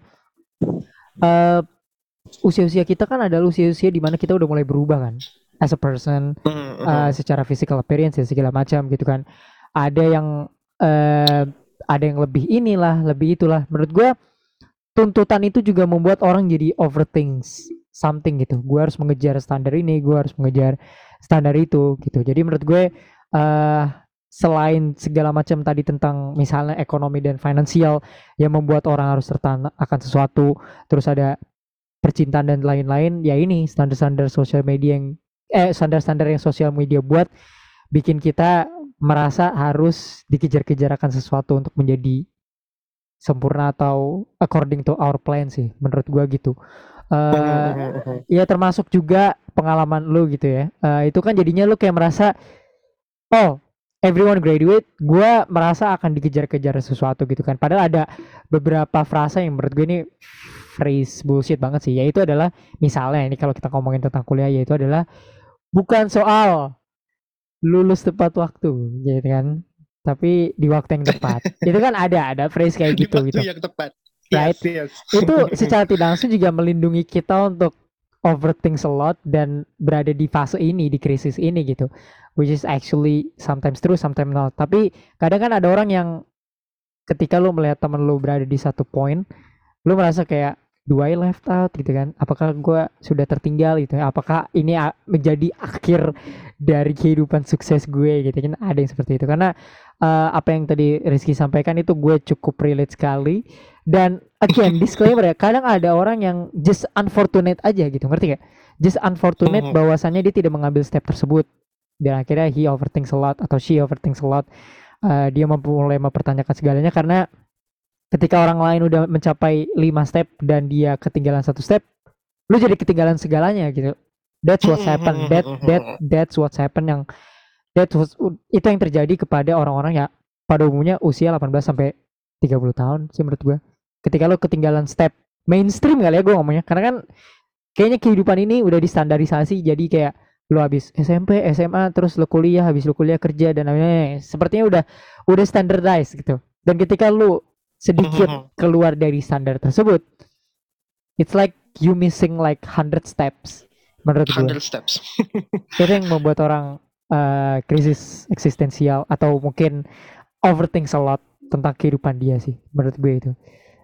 uh, usia-usia kita kan adalah usia-usia di mana kita udah mulai berubah kan, as a person, uh, secara physical appearance ya segala macam gitu kan. Ada yang uh, ada yang lebih inilah, lebih itulah. Menurut gue tuntutan itu juga membuat orang jadi overthink something gitu. Gue harus mengejar standar ini, gue harus mengejar standar itu gitu. Jadi menurut gue uh, selain segala macam tadi tentang misalnya ekonomi dan finansial yang membuat orang harus tertahan akan sesuatu, terus ada percintaan dan lain-lain, ya ini standar-standar sosial media yang eh standar-standar yang sosial media buat bikin kita merasa harus dikejar-kejar akan sesuatu untuk menjadi sempurna atau according to our plan sih, menurut gua gitu. Uh, ya termasuk juga pengalaman lu gitu ya. Uh, itu kan jadinya lu kayak merasa, oh everyone graduate, gua merasa akan dikejar-kejar sesuatu gitu kan. Padahal ada beberapa frasa yang menurut gue ini phrase bullshit banget sih. Yaitu adalah misalnya ini kalau kita ngomongin tentang kuliah, yaitu adalah bukan soal lulus tepat waktu, gitu kan, tapi di waktu yang tepat. Itu kan ada ada phrase kayak gitu di waktu gitu. yang tepat. Right? Yes, yes. Itu secara tidak langsung juga melindungi kita untuk overthink a lot dan berada di fase ini, di krisis ini gitu. Which is actually sometimes true, sometimes not. Tapi kadang kan ada orang yang ketika lu melihat temen lu berada di satu point, lu merasa kayak, do I left out gitu kan? Apakah gue sudah tertinggal gitu? Apakah ini menjadi akhir dari kehidupan sukses gue gitu kan? Ada yang seperti itu. Karena uh, apa yang tadi Rizky sampaikan itu gue cukup relate sekali. Dan again disclaimer ya, kadang ada orang yang just unfortunate aja gitu, ngerti gak? Just unfortunate bahwasannya dia tidak mengambil step tersebut. Dan akhirnya he overthinks a lot atau she overthinks a lot. Uh, dia mulai mempertanyakan segalanya karena ketika orang lain udah mencapai lima step dan dia ketinggalan satu step, lu jadi ketinggalan segalanya gitu. That's what's happen. That that that's what's happen yang that was, itu yang terjadi kepada orang-orang ya pada umumnya usia delapan belas sampai tiga puluh tahun sih menurut gue. Ketika lu ketinggalan step mainstream kali ya gue ngomongnya, karena kan kayaknya kehidupan ini udah distandarisasi jadi kayak lu habis S M P, S M A, terus lu kuliah, habis lu kuliah kerja dan lain-lain. Sepertinya udah udah standardized gitu. Dan ketika lu sedikit keluar dari standar tersebut, it's like you missing like hundred steps menurut gue. hundred steps. Itu yang membuat orang uh, krisis eksistensial atau mungkin overthink a lot tentang kehidupan dia sih menurut gue itu.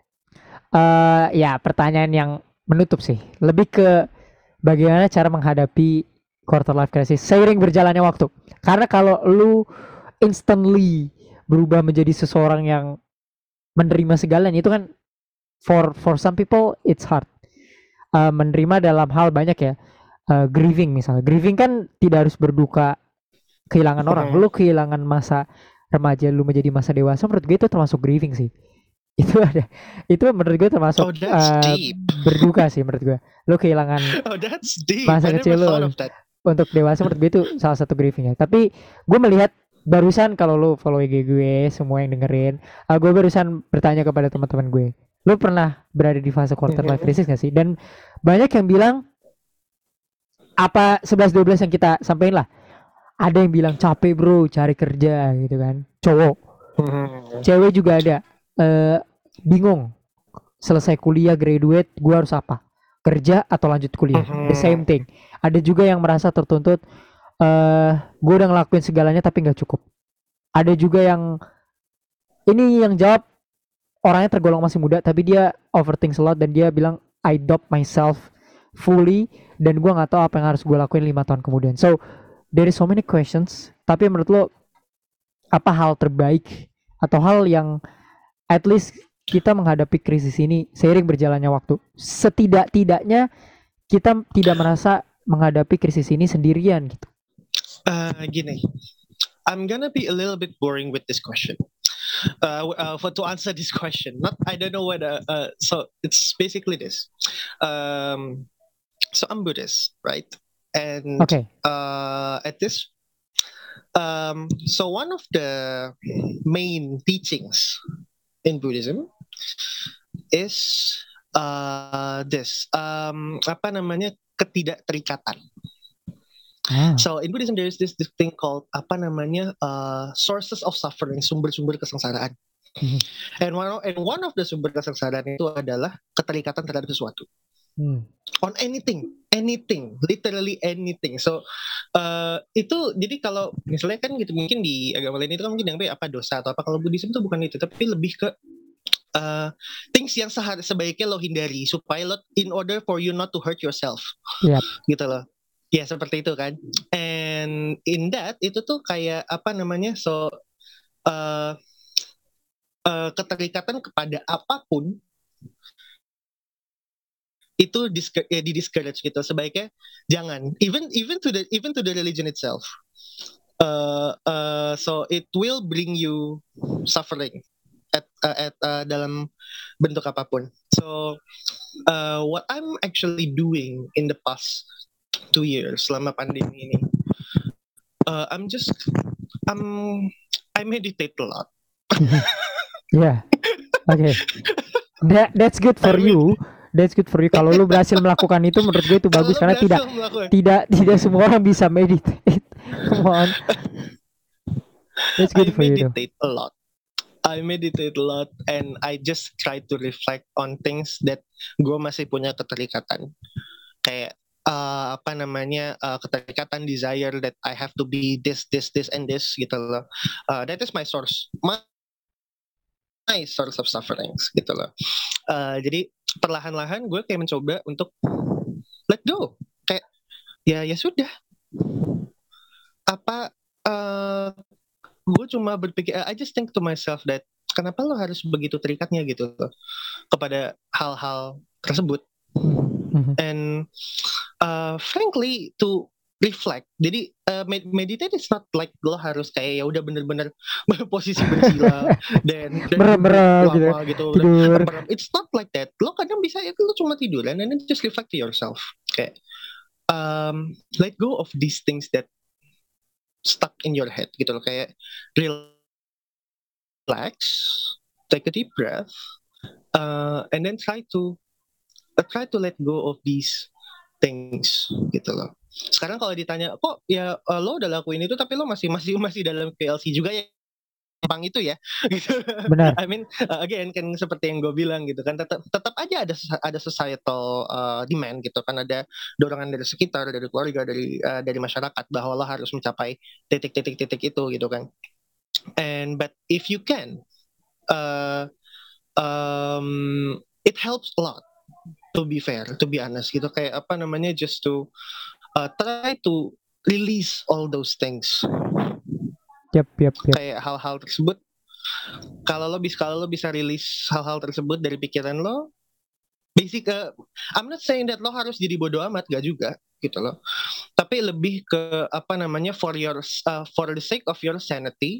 Uh, ya pertanyaan yang menutup sih, lebih ke bagaimana cara menghadapi quarter life crisis seiring berjalannya waktu. Karena kalau lu instantly berubah menjadi seseorang yang menerima segalanya itu kan for for some people it's hard. Uh, menerima dalam hal banyak ya. Uh, grieving misalnya. Grieving kan tidak harus berduka kehilangan orang. Lu kehilangan masa remaja lu menjadi masa dewasa, menurut gue itu termasuk grieving sih. Itu ada. Itu menurut gue termasuk oh, uh, berduka sih menurut gue. Lu kehilangan oh, that's deep. masa kecil lu untuk dewasa, menurut gue itu salah satu grieving ya. Tapi gue melihat barusan kalau lu follow I G gue, semua yang dengerin, uh, gue barusan bertanya kepada teman-teman gue, lu pernah berada di fase quarter life crisis gak sih? Dan banyak yang bilang apa sebelas dua belas yang kita sampaikan lah. Ada yang bilang capek bro, cari kerja gitu kan, cowok. Cewek juga ada, uh, bingung selesai kuliah graduate, gue harus apa? Kerja atau lanjut kuliah? The same thing. Ada juga yang merasa tertuntut, Uh, gue udah ngelakuin segalanya tapi nggak cukup. Ada juga yang ini yang jawab orangnya tergolong masih muda tapi dia overthink a lot dan dia bilang I doubt myself fully dan gue nggak tahu apa yang harus gue lakuin lima tahun kemudian. So there is so many questions. Tapi menurut lo apa hal terbaik atau hal yang at least kita menghadapi krisis ini seiring berjalannya waktu? Setidak-tidaknya kita tidak merasa menghadapi krisis ini sendirian gitu. Uh, gini, I'm gonna be a little bit boring with this question. Uh, uh, for to answer this question, not I don't know whether. Uh, so it's basically this. Um, so I'm Buddhist, right? And okay. uh, at this, um, so one of the main teachings in Buddhism is uh, this. Um, apa namanya ketidakterikatan. Ah. So in Buddhism there is this, this thing called apa namanya uh, sources of suffering, sumber-sumber kesengsaraan. Mhm. And one of, and one of the sumber kesengsaraan itu adalah keterikatan terhadap sesuatu. Hmm. On anything, anything, literally anything. So uh, itu jadi kalau misalnya kan gitu mungkin di agama lain itu kan mungkin yang apa dosa atau apa, kalau Buddhism itu bukan itu, tapi lebih ke uh, things yang sehar- sebaiknya lo hindari supaya lo in order for you not to hurt yourself. Yep. Gitu loh. Ya seperti itu kan. And in that itu tuh kayak apa namanya, so uh, uh, keterikatan kepada apapun itu disc- eh, di discourage gitu, sebaiknya jangan, even even to the even to the religion itself. Uh, uh, so it will bring you suffering at uh, at uh, dalam bentuk apapun. So uh, what I'm actually doing in the past two years selama pandemi ini, uh, I'm just I'm I meditate a lot. Yeah. Okay. That that's good for I mean, you. That's good for you. Kalau lu berhasil melakukan itu, menurut gue itu bagus, kalau karena tidak berhasil melakukan, tidak tidak semua orang bisa meditate. Come on. That's good I for you though. meditate a lot. I meditate a lot and I just try to reflect on things that gue masih punya keterikatan. Kayak uh, apa namanya, uh, keterikatan, desire that I have to be this, this, this, and this gitu loh. Uh, that is my source, my, my source of sufferings gitu loh. Uh, jadi perlahan-lahan gue kayak mencoba untuk let go. Kayak ya ya sudah. Apa uh, gue cuma berpikir, I just think to myself that kenapa lo harus begitu terikatnya gitu loh kepada hal-hal tersebut. Mhm. And uh, frankly to reflect. Jadi uh, med- meditate is not like lo harus kayak ya udah bener-bener posisi bersila dan dan Merem-merem duduk gitu, lama gitu. Dan tidur. merem. It's not like that. Lo kadang bisa ya lo cuma tiduran and then just reflect to yourself. Kayak um, let go of these things that stuck in your head gitu loh. Kayak relax, take a deep breath, uh, and then try to uh, try to let go of these things gitu loh. Sekarang kalau ditanya kok ya uh, lo udah lakuin itu tapi lo masih masih masih dalam P L C juga ya, gampang itu ya gitu. Benar. I mean uh, again kan seperti yang gue bilang gitu kan, tetap tetap aja ada ada societal uh, demand gitu kan, ada dorongan dari sekitar, dari keluarga, dari uh, dari masyarakat bahwa lo harus mencapai titik-titik-titik itu gitu kan. And but if you can uh, um, it helps a lot, to be fair, to be honest gitu, kayak apa namanya, just to uh, try to release all those things. Yep, yep, yep. Kayak hal-hal tersebut, kalau lo bisa kalau lo bisa release hal-hal tersebut dari pikiran lo, basic uh, I'm not saying that lo harus jadi bodoh amat, gak juga gitu loh, tapi lebih ke apa namanya, for your uh, for the sake of your sanity.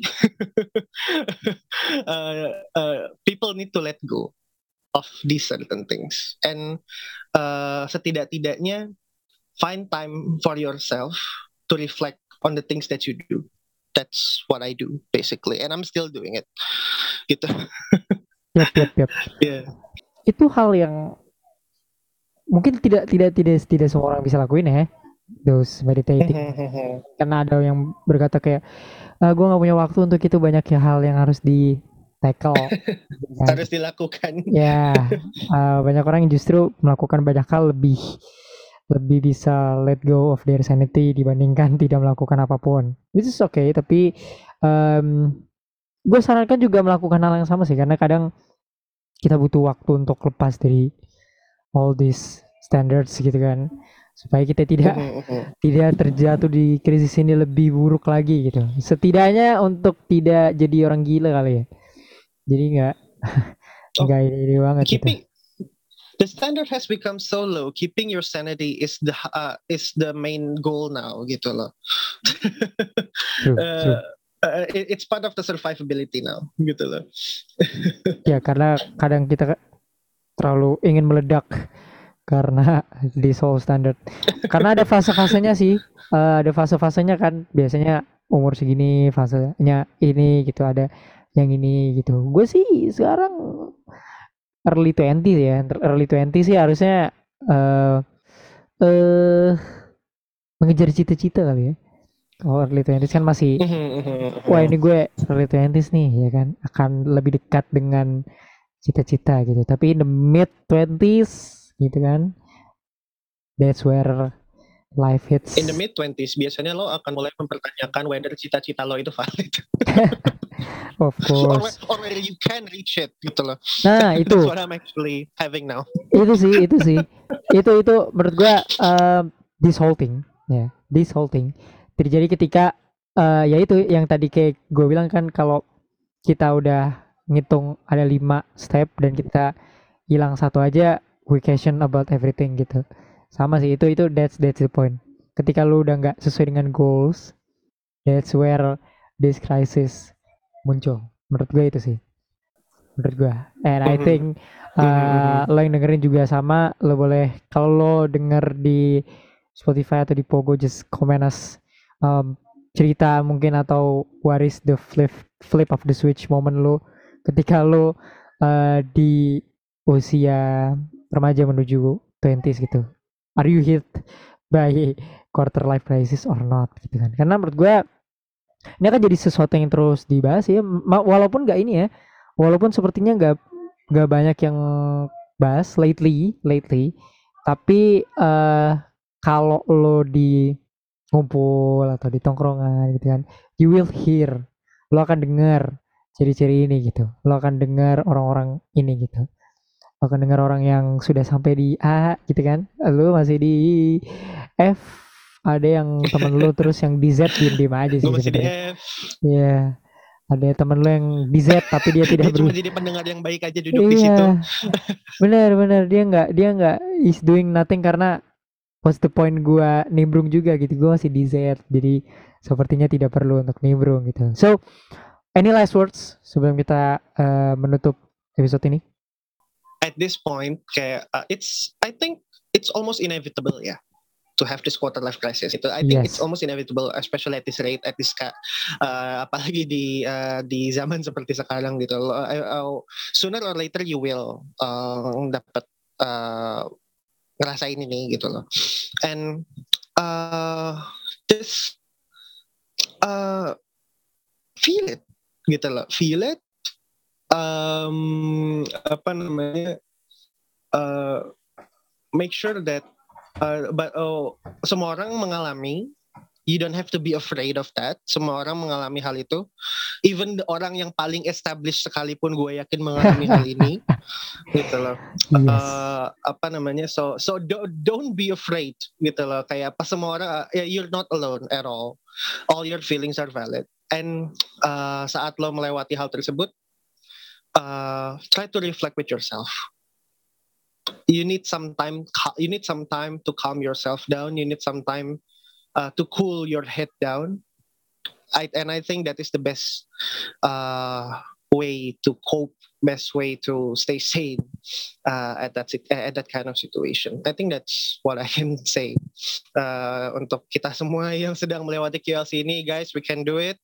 uh, uh, people need to let go of these certain things, and uh, setidak-tidaknya find time for yourself to reflect on the things that you do. That's what I do basically, and I'm still doing it gitu. Yep, yep, yep. Yeah. Itu hal yang mungkin tidak tidak tidak tidak semua orang bisa lakuin ya, those meditating. Karena ada yang berkata kayak, ah, gue nggak punya waktu untuk itu, banyak ya hal yang harus di tackle. Harus dilakukan. Ya, uh, banyak orang yang justru melakukan banyak hal lebih lebih bisa let go of their sanity dibandingkan tidak melakukan apapun. Which is okay, tapi um, gue sarankan juga melakukan hal yang sama sih, karena kadang kita butuh waktu untuk lepas dari all these standards gitu kan, supaya kita tidak tidak terjatuh di krisis ini lebih buruk lagi gitu. Setidaknya untuk tidak jadi orang gila kali ya. Jadi nggak nggak oh, ini banget keeping, gitu. The standard has become so low. Keeping your sanity is the uh, is the main goal now gitu loh. True, uh, true. Uh, it, it's part of the survivability now gitu loh. Ya karena kadang kita terlalu ingin meledak karena di soul standard. Karena ada fase-fasenya sih, uh, ada fase-fasenya kan, biasanya umur segini fasenya ini gitu, ada yang ini gitu. Gue sih sekarang early twenty ya, early twenty sih harusnya uh, uh, mengejar cita-cita kali ya. kalau early twenties kan masih wah ini gue early twenties nih ya kan, akan lebih dekat dengan cita-cita gitu. Tapi in the mid twenties gitu kan, that's where life hits. In the mid twenties biasanya lo akan mulai mempertanyakan whether cita-cita lo itu valid. Of course. Or, or whether you can reach it gitu loh. Nah itu. That's what I'm actually having now. Itu sih, itu sih. itu itu menurut gue uh, this whole thing, ya, yeah, this whole thing terjadi ketika uh, ya itu yang tadi kayak gue bilang kan, kalau kita udah ngitung ada lima step dan kita hilang satu aja, we question about everything gitu. Sama sih, itu itu that's that's the point. Ketika lu udah nggak sesuai dengan goals, that's where this crisis muncul. Menurut gue itu sih, menurut gue. And I think uh, lo yang dengerin juga sama, lo boleh kalau lo denger di Spotify atau di Pogo, just comment us um, cerita mungkin, atau what is the flip flip of the switch moment lo ketika lo uh, di usia remaja menuju twenties gitu. Are you hit by quarter life crisis or not gitu kan? Karena menurut gue ini akan jadi sesuatu yang terus dibahas ya, walaupun nggak ini ya, walaupun sepertinya nggak nggak banyak yang bahas lately lately tapi uh, kalau lo di ngumpul atau di tongkrongan gitu kan, you will hear, lo akan dengar ciri-ciri ini gitu, lo akan dengar orang-orang ini gitu, lo akan dengar orang yang sudah sampai di A gitu kan, lo masih di F, ada yang temen lo terus yang di Z diem-diem aja sih. Gue masih di F. Iya. Yeah. Ada temen lo yang di Z tapi dia tidak dia cuma jadi pendengar yang baik aja duduk iya, di situ. Bener-bener dia nggak dia nggak is doing nothing, karena what's the point gue nimbrung juga gitu, gue masih di Z, jadi sepertinya tidak perlu untuk nimbrung gitu. So any last words sebelum kita uh, menutup episode ini? At this point kayak uh, it's I think it's almost inevitable ya, yeah, to have this quarter life crisis itu. I think yes. It's almost inevitable, especially at this rate, at this uh, apalagi di uh, di zaman seperti sekarang gitu. Uh, uh, sooner or later you will uh, dapat uh, ngerasain ini gitu loh. And uh, this uh, feel it gitu loh, feel it. Um, apa namanya? Uh, make sure that Uh, but oh, semua orang mengalami. You don't have to be afraid of that. Semua orang mengalami hal itu. Even orang yang paling established sekalipun, gue yakin mengalami hal ini. Gitu loh. Yes. Uh, apa namanya? So so don't, don't be afraid. Gitu loh. Kayak apa, semua orang, uh, you're not alone at all. All your feelings are valid. And uh, saat lo melewati hal tersebut, uh, try to reflect with yourself. You need some time. You need some time to calm yourself down. You need some time uh, to cool your head down. I, and I think that is the best uh, way to cope. Best way to stay sane uh, at that at that kind of situation. I think that's what I can say. Uh, untuk kita semua yang sedang melewati Q L C ini, guys, we can do it.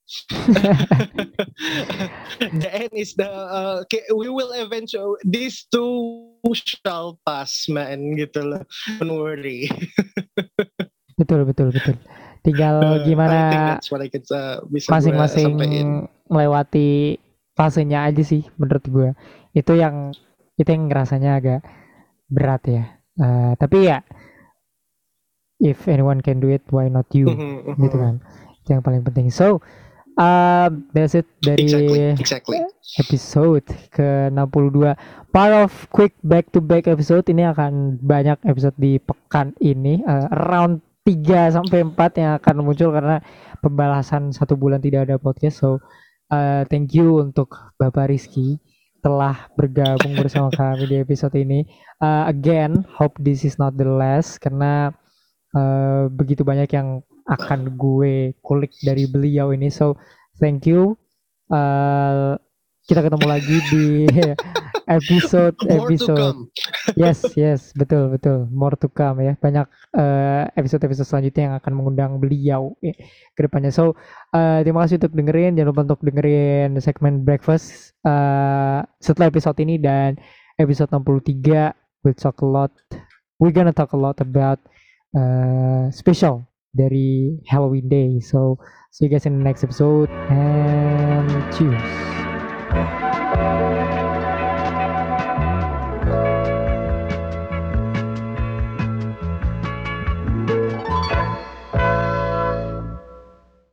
The end is the uh, we will eventually, these two shall pass, man, gitu loh. Don't worry. Betul betul betul. Tinggal gimana uh, uh, masing-masing melewati fasenya aja sih menurut gue. Itu yang itu yang ngerasanya agak berat ya. Uh, tapi ya, if anyone can do it, why not you? Mm-hmm, gitu kan. Itu yang paling penting. So uh, that's it dari exactly, exactly. episode ke enam puluh dua. Part of quick back to back episode ini akan banyak episode di pekan ini. Uh, around tiga sampai empat yang akan muncul karena pembalasan satu bulan tidak ada podcast. So uh, thank you untuk Bapak Rizky telah bergabung bersama kami di episode ini. Uh, again, hope this is not the last karena uh, begitu banyak yang akan gue kulik dari beliau ini. So thank you. Uh, kita ketemu lagi di episode episode yes yes betul betul more to come ya, banyak uh, episode episode selanjutnya yang akan mengundang beliau ya, ke depannya. So uh, terima kasih untuk dengerin, jangan lupa untuk dengerin segmen breakfast uh, setelah episode ini, dan episode enam puluh tiga we'll talk a lot we're gonna talk a lot about uh, special dari Halloween Day. So see you guys in the next episode and cheers.